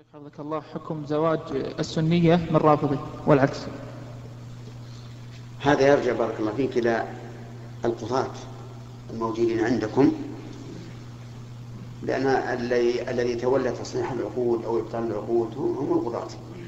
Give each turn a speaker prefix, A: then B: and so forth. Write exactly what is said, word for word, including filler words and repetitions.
A: شيخ حفظك الله، حكم زواج السنية من رافضي والعكس.
B: هذا يرجع بارك الله فيك إلى القضاة الموجودين عندكم، لأن الذي الذي تولى تصحيح العقود أو إبطال العقود هم القضاة.